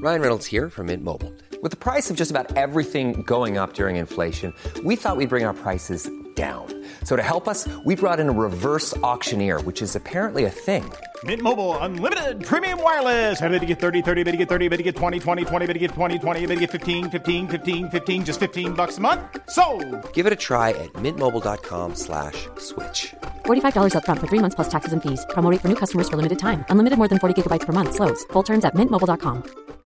Ryan Reynolds here from Mint Mobile. With the price of just about everything going up during inflation, we thought we'd bring our prices down. So to help us, we brought in a reverse auctioneer, which is apparently a thing. Mint Mobile Unlimited Premium Wireless. How to get 30, 30, bit to get 30, bit to get 20, 20, 20, bit to get 20, 20, bit to get 15, 15, 15, 15, just $15 a month? Sold! Give it a try at mintmobile.com/switch. $45 up front for 3 months plus taxes and fees. Promo rate for new customers for limited time. Unlimited more than 40 gigabytes per month. Slows full terms at mintmobile.com.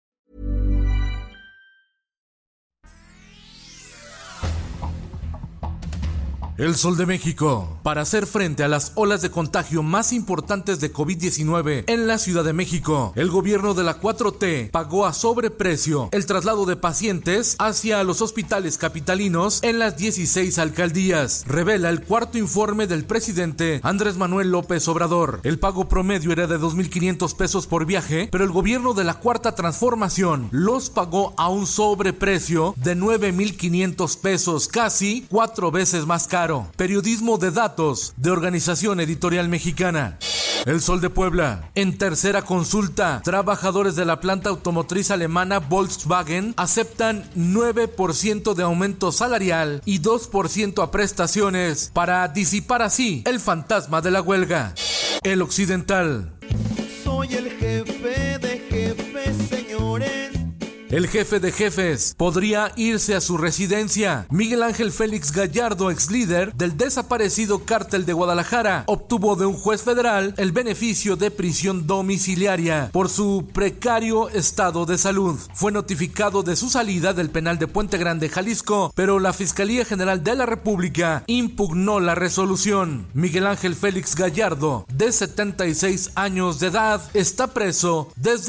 El Sol de México. Para hacer frente a las olas de contagio más importantes de COVID-19 en la Ciudad de México, el gobierno de la 4T pagó a sobreprecio el traslado de pacientes hacia los hospitales capitalinos en las 16 alcaldías, revela el cuarto informe del presidente Andrés Manuel López Obrador. El pago promedio era de 2,500 pesos por viaje, pero el gobierno de la Cuarta Transformación los pagó a un sobreprecio de 9,500 pesos, casi 4 veces más caro. Periodismo de datos de Organización Editorial Mexicana. El Sol de Puebla. En tercera consulta, trabajadores de la planta automotriz alemana Volkswagen aceptan 9% de aumento salarial y 2% a prestaciones para disipar así el fantasma de la huelga. El Occidental. Soy el jefe de jefes, señores. El jefe de jefes podría irse a su residencia. Miguel Ángel Félix Gallardo, ex líder del desaparecido Cártel de Guadalajara, obtuvo de un juez federal el beneficio de prisión domiciliaria por su precario estado de salud. Fue notificado de su salida del penal de Puente Grande, Jalisco, pero la Fiscalía General de la República impugnó la resolución. Miguel Ángel Félix Gallardo, de 76 años de edad, está preso desde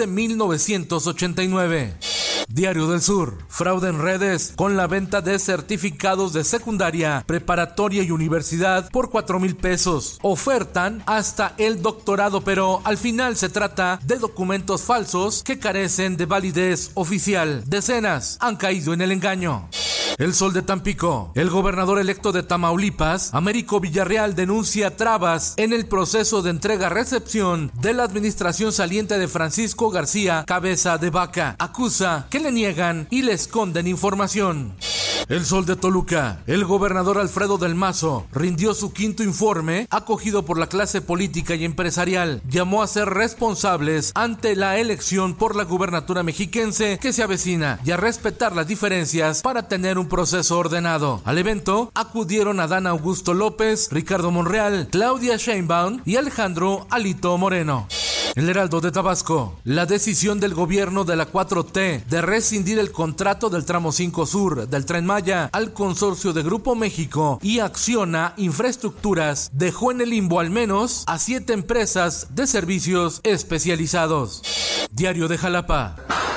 1989. Diario del Sur. Fraude en redes con la venta de certificados de secundaria, preparatoria y universidad por 4,000 pesos. Ofertan hasta el doctorado, pero al final se trata de documentos falsos que carecen de validez oficial. Decenas han caído en el engaño. El Sol de Tampico. El gobernador electo de Tamaulipas, Américo Villarreal, denuncia trabas en el proceso de entrega-recepción de la administración saliente de Francisco García Cabeza de Vaca. Acusa que le niegan y le esconden información. El Sol de Toluca. El gobernador Alfredo del Mazo rindió su quinto informe, acogido por la clase política y empresarial. Llamó a ser responsables ante la elección por la gubernatura mexiquense que se avecina y a respetar las diferencias para tener un proceso ordenado. Al evento acudieron Adán Augusto López, Ricardo Monreal, Claudia Sheinbaum y Alejandro Alito Moreno. El Heraldo de Tabasco. La decisión del gobierno de la 4T de rescindir el contrato del tramo 5 Sur del Tren Maya al consorcio de Grupo México y Acciona Infraestructuras dejó en el limbo al menos a 7 empresas de servicios especializados. Diario de Jalapa.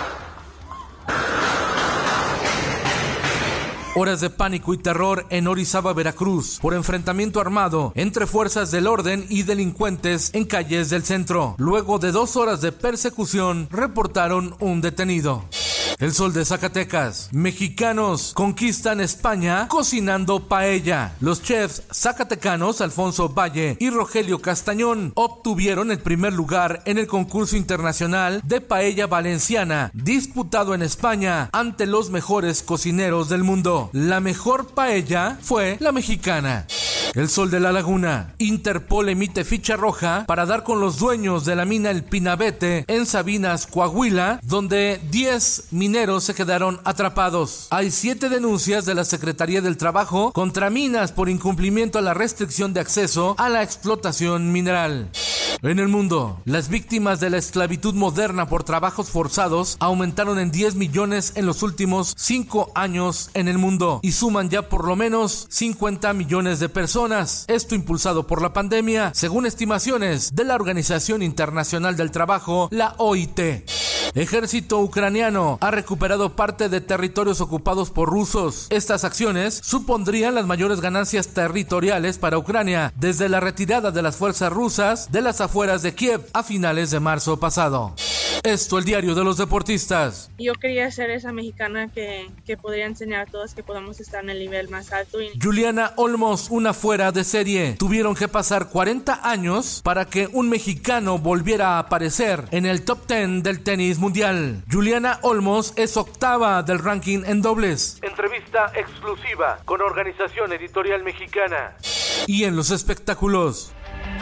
Horas de pánico y terror en Orizaba, Veracruz, por enfrentamiento armado entre fuerzas del orden y delincuentes en calles del centro. Luego de 2 horas de persecución, reportaron un detenido. El Sol de Zacatecas. Mexicanos conquistan España cocinando paella. Los chefs zacatecanos Alfonso Valle y Rogelio Castañón obtuvieron el primer lugar en el concurso internacional de paella valenciana, disputado en España ante los mejores cocineros del mundo. La mejor paella fue la mexicana. El Sol de la Laguna. Interpol emite ficha roja para dar con los dueños de la mina El Pinabete en Sabinas, Coahuila, donde 10 mineros se quedaron atrapados. Hay 7 denuncias de la Secretaría del Trabajo contra minas por incumplimiento a la restricción de acceso a la explotación mineral. En el mundo, las víctimas de la esclavitud moderna por trabajos forzados aumentaron en 10 millones en los últimos 5 años en el mundo y suman ya por lo menos 50 millones de personas. Esto impulsado por la pandemia, según estimaciones de la Organización Internacional del Trabajo, la OIT. Ejército ucraniano ha recuperado parte de territorios ocupados por rusos. Estas acciones supondrían las mayores ganancias territoriales para Ucrania desde la retirada de las fuerzas rusas de las afueras de Kiev a finales de marzo pasado. Esto, el diario de los deportistas. Yo quería ser esa mexicana que podría enseñar a todos que podamos estar en el nivel más alto. Juliana Olmos, una fuera de serie. Tuvieron que pasar 40 años para que un mexicano volviera a aparecer en el top 10 del tenis mundial. Juliana Olmos es octava del ranking en dobles. Entrevista exclusiva con Organización Editorial Mexicana. Y en los espectáculos,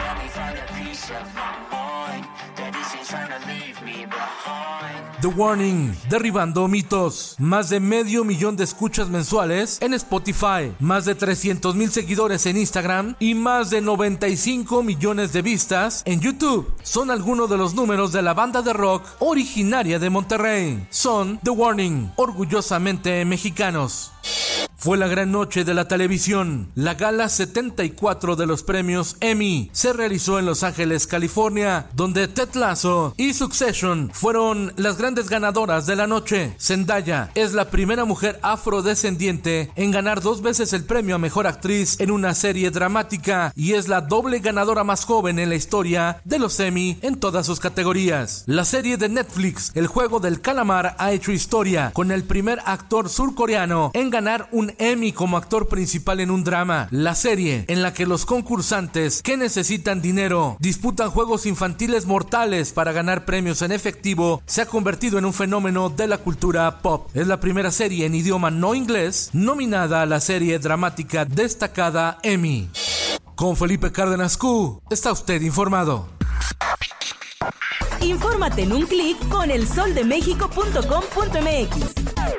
The Warning, derribando mitos. Más de 500,000 de escuchas mensuales en Spotify, más de 300,000 seguidores en Instagram y más de 95 millones de vistas en YouTube. Son algunos de los números de la banda de rock originaria de Monterrey. Son The Warning, orgullosamente mexicanos. Fue la gran noche de la televisión. La gala 74 de los premios Emmy se realizó en Los Ángeles, California, donde Ted Lasso y Succession fueron las grandes ganadoras de la noche. Zendaya es la primera mujer afrodescendiente en ganar 2 veces el premio a Mejor Actriz en una serie dramática y es la doble ganadora más joven en la historia de los Emmy en todas sus categorías. La serie de Netflix, El Juego del Calamar, ha hecho historia con el primer actor surcoreano en ganar un Emmy como actor principal en un drama. La serie, en la que los concursantes que necesitan dinero disputan juegos infantiles mortales para ganar premios en efectivo, se ha convertido en un fenómeno de la cultura pop. Es la primera serie en idioma no inglés nominada a la serie dramática destacada Emmy. Con Felipe Cárdenas Q, está usted informado. Infórmate en un clic con elsoldemexico.com.mx.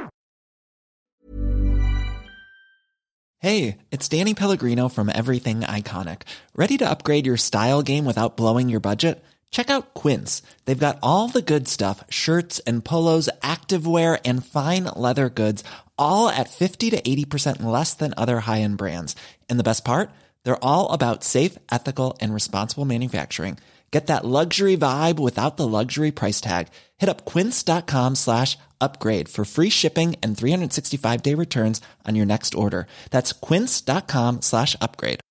Hey, it's Danny Pellegrino from Everything Iconic. Ready to upgrade your style game without blowing your budget? Check out Quince. They've got all the good stuff, shirts and polos, activewear, and fine leather goods, all at 50 to 80% less than other high-end brands. And the best part? They're all about safe, ethical, and responsible manufacturing. Get that luxury vibe without the luxury price tag. Hit up quince.com/upgrade for free shipping and 365-day returns on your next order. That's quince.com/upgrade.